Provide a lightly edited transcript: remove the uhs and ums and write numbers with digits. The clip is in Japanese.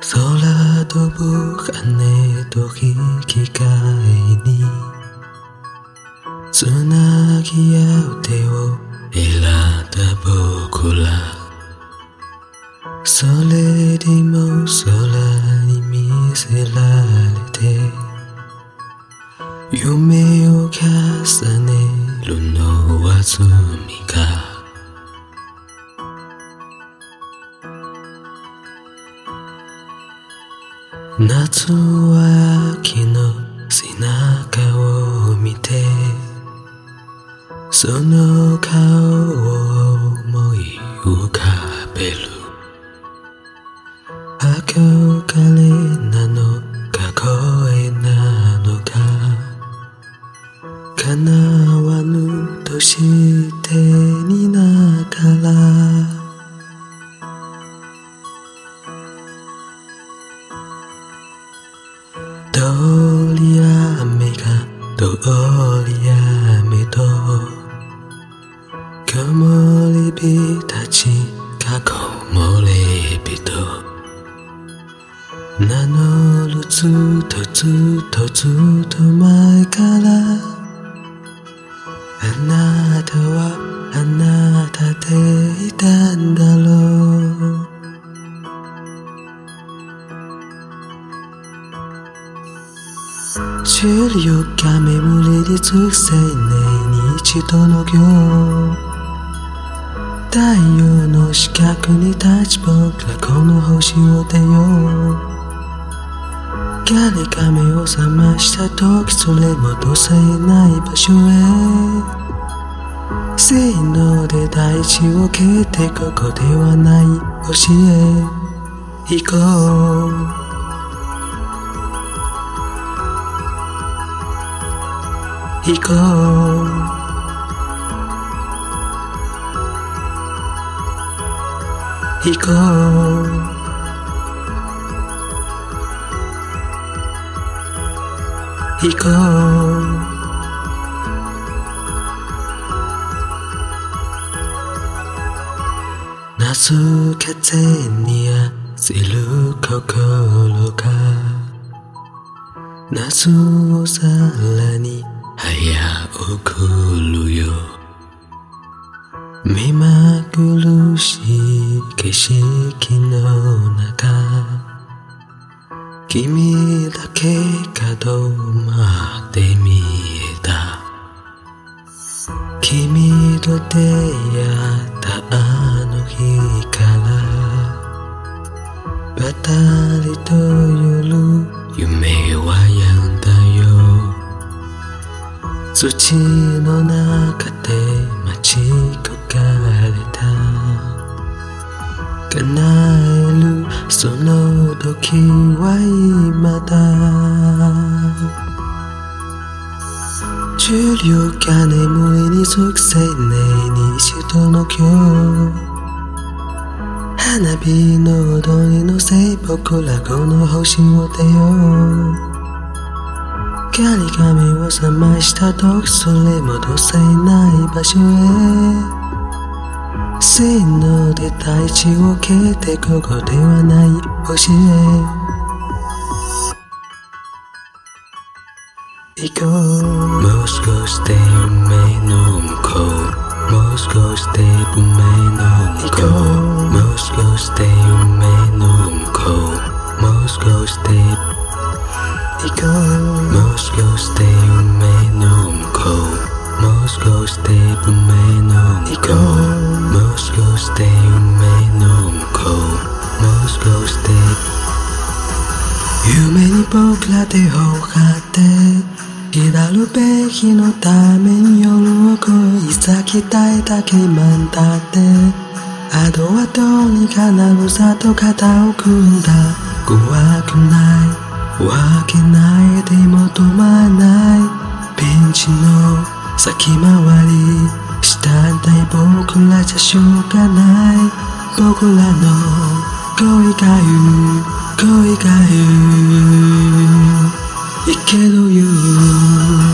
空飛ぶ羽と引き換えにつなぎ合う手を選んだ僕ら、それでも空に見せられて夢を重ねるのは罪か。夏は秋の背中を見てその顔を思い浮かべる。憧れなのか声なのか叶わぬとしてにながら通り雨が通り雨と木漏れ日たちが木漏れ日と名乗るずっとずっとずっと前からあなたはあなたでいたんだろう。16が眠りにつく青年に一度の行太陽の四角に立ち僕らこの星を出よう。誰が目を覚ました時それ戻せない場所へせーので大地を蹴ってここではない星へ行こう。行こう行こう行こう夏風に焦る心が夏をさらに早送るよ。目まぐるしい景色の中君だけ角まで見えた。君と出会ったあの日からばたりと夜夢は止んだよ。土の中で待ち焦がれた叶えるその時は今だ。16が眠りにつく青年に一度の今日花火の踊りのせい僕らこの星を出よう。光が目を覚ました時それ戻せない場所へせーので大地を蹴ってここではない星へ行こう。もう少しで夢の向こうもう少しで夢の向こうもう少しで夢の向こうもう少しで行こう。もう少しで夢の向こうもう少しで夢の向こうもう少しで夢の向こうもう少しで夢に僕ら手を張って来るべきのために夜を越え先たいだけ満だってあとはどうにかなるさと肩を組んだ。怖くないわけないでも止まらないピンチの先回りしたんだい僕らじゃしょうがない僕らの恋が言ういけど言う